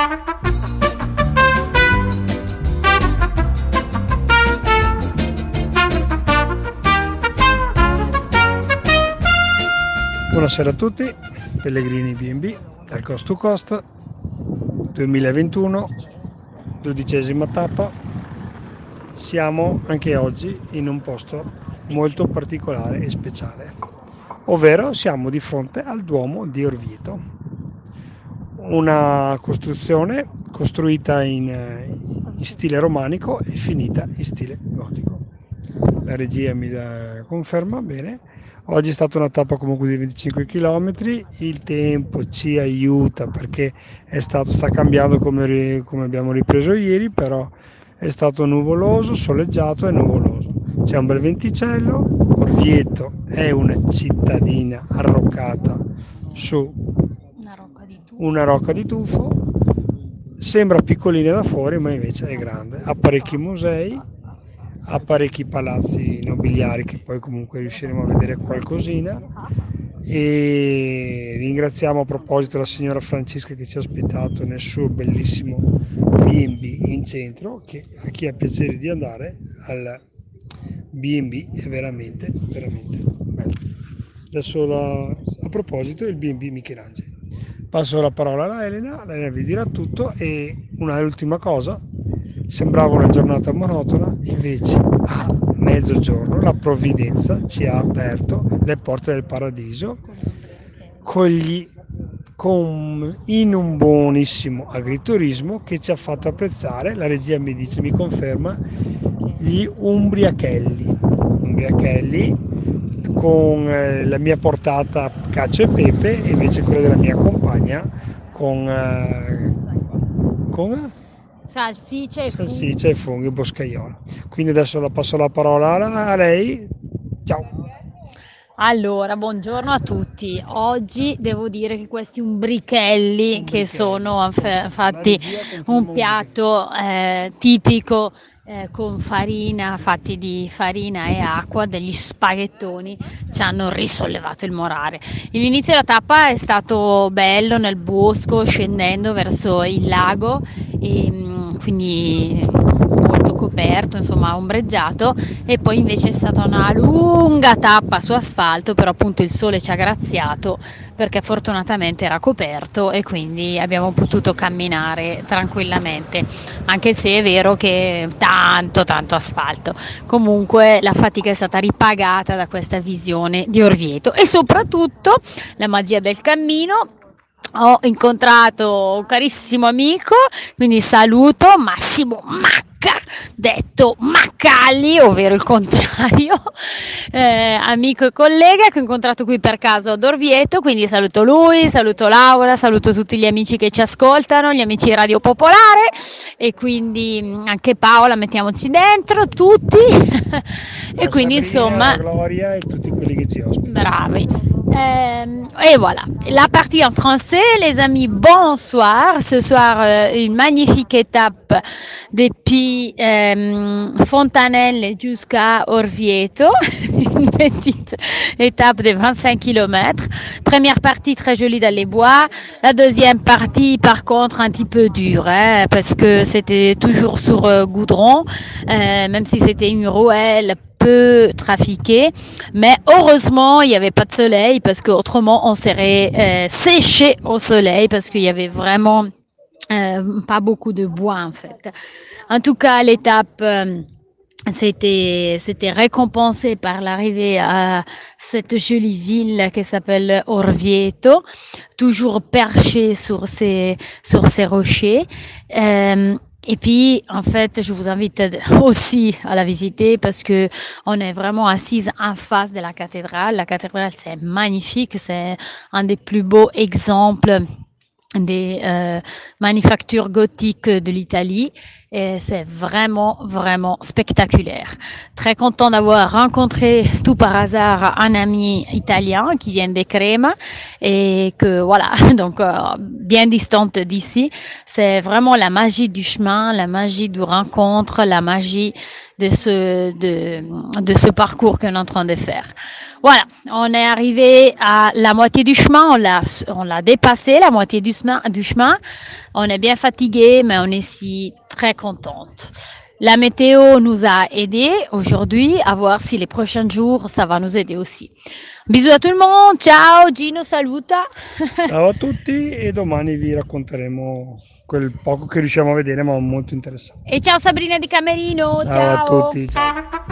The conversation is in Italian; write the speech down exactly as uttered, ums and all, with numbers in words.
Buonasera a tutti, Pellegrini B and B dal Coast to Coast duemilaventuno, dodicesima tappa. Siamo anche oggi in un posto molto particolare e speciale, ovvero siamo di fronte al Duomo di Orvieto, una costruzione costruita in, in stile romanico e finita in stile gotico. La regia mi dà conferma, bene. Oggi è stata una tappa comunque di venticinque chilometri, il tempo ci aiuta perché è stato, sta cambiando come, come abbiamo ripreso ieri, però è stato nuvoloso, soleggiato e nuvoloso. C'è un bel venticello. Orvieto è una cittadina arroccata su Una rocca di tufo. una rocca di tufo, sembra piccolina da fuori ma invece è grande, ha parecchi musei, ha parecchi palazzi nobiliari che poi comunque riusciremo a vedere qualcosina, e ringraziamo a proposito la signora Francesca che ci ha ospitato nel suo bellissimo B and B in centro, che a chi ha piacere di andare al B and B è veramente veramente bello. Adesso la, a proposito il B and B Michelangelo, passo la parola a Elena, Elena vi dirà tutto. E un'ultima cosa, sembrava una giornata monotona, invece a mezzogiorno la provvidenza ci ha aperto le porte del paradiso con gli, con, in un buonissimo agriturismo che ci ha fatto apprezzare, la regia mi dice, mi conferma, gli umbriachelli, umbriachelli con eh, la mia portata cacio e pepe e invece quella della mia compagna con, eh, con Salsiccia e salsiccia e funghi boscaiolo. Quindi adesso la passo la parola a lei. Ciao. Allora, buongiorno a tutti. Oggi devo dire che questi umbrichelli, Umbrichelli. che sono f- fatti La regia conferma un piatto eh, tipico eh, con farina, fatti di farina e acqua, degli spaghettoni, ci hanno risollevato il morale. L'inizio della tappa è stato bello nel bosco, scendendo verso il lago, e mm, quindi molto coperto, insomma ombreggiato, e poi invece è stata una lunga tappa su asfalto, però appunto il sole ci ha graziato perché fortunatamente era coperto e quindi abbiamo potuto camminare tranquillamente, anche se è vero che tanto tanto asfalto. Comunque la fatica è stata ripagata da questa visione di Orvieto e soprattutto la magia del cammino. Ho incontrato un carissimo amico, quindi saluto Massimo Macca, detto Maccalli, ovvero il contrario, eh, amico e collega che ho incontrato qui per caso ad Orvieto, quindi saluto lui, saluto Laura, saluto tutti gli amici che ci ascoltano, gli amici di Radio Popolare, e quindi anche Paola, mettiamoci dentro tutti e quindi Sabrina, insomma Gloria e tutti quelli che ci ospitano. bravi. Euh, et voilà, la partie en français, les amis, bonsoir. Ce soir, euh, une magnifique étape depuis euh, Fontanelle jusqu'à Orvieto, une petite étape de vingt-cinq kilomètres. Première partie très jolie dans les bois, la deuxième partie par contre un petit peu dure, hein, parce que c'était toujours sur euh, goudron, euh, même si c'était une rouelle peu trafiqué, mais heureusement il n'y avait pas de soleil parce qu'autrement on serait euh, séché au soleil parce qu'il y avait vraiment euh, pas beaucoup de bois en fait. En tout cas l'étape euh, c'était c'était récompensé par l'arrivée à cette jolie ville qui s'appelle Orvieto, toujours perchée sur ces sur ces rochers. Euh, Et puis, en fait, je vous invite aussi à la visiter parce que on est vraiment assise en face de la cathédrale. La cathédrale, c'est magnifique, c'est un des plus beaux exemples des euh, manufactures gothiques de l'Italie. et c'est vraiment, vraiment spectaculaire. Très content d'avoir rencontré tout par hasard un ami italien qui vient de Crema et que voilà, donc euh, bien distante d'ici. C'est vraiment la magie du chemin, la magie du rencontre, la magie de ce, de, de ce parcours qu'on est en train de faire. Voilà, on est arrivé à la moitié du chemin, on l'a, on l'a dépassé, la moitié du chemin, du chemin. On est bien fatigué, mais on est si très contente. La météo nous a aidés aujourd'hui à voir si les prochains jours ça va nous aider aussi. Bisous à tout le monde, ciao, Gino saluta. Ciao a tutti e domani vi racconteremo quel poco che riusciamo a vedere, ma molto interessante. E ciao Sabrina di Camerino, Ciao a ciao. tutti, ciao.